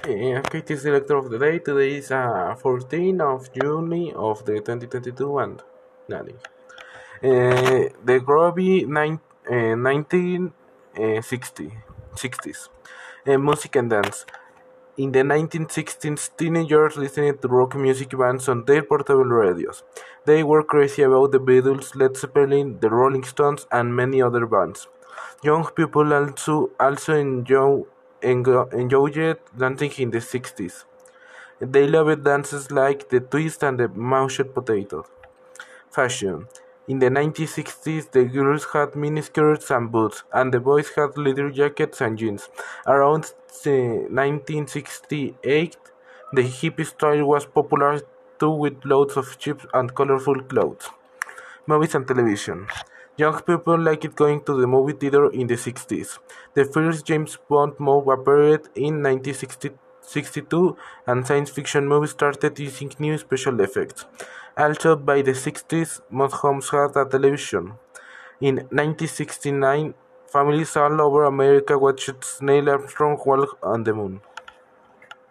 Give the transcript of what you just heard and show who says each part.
Speaker 1: Okay, this is the lecture of the day. Today is 14 of June of the 2022 and nothing. The Groovy 1960 60s. Music and dance. In the 1960s, teenagers listened to rock music bands on their portable radios. They were crazy about the Beatles, Led Zeppelin, the Rolling Stones, and many other bands. Young people also enjoyed dancing in the 60s. They loved dances like the twist and the mashed potato. Fashion. In the 1960s, the girls had miniskirts and boots, and the boys had leather jackets and jeans. Around 1968, the hippie style was popular too, with loads of cheap and colorful clothes. Movies and television. Young people liked going to the movie theater in the 60s. The first James Bond movie appeared in 1962, and science fiction movies started using new special effects. Also, by the 60s, most homes had a television. In 1969, families all over America watched Neil Armstrong walk on the moon.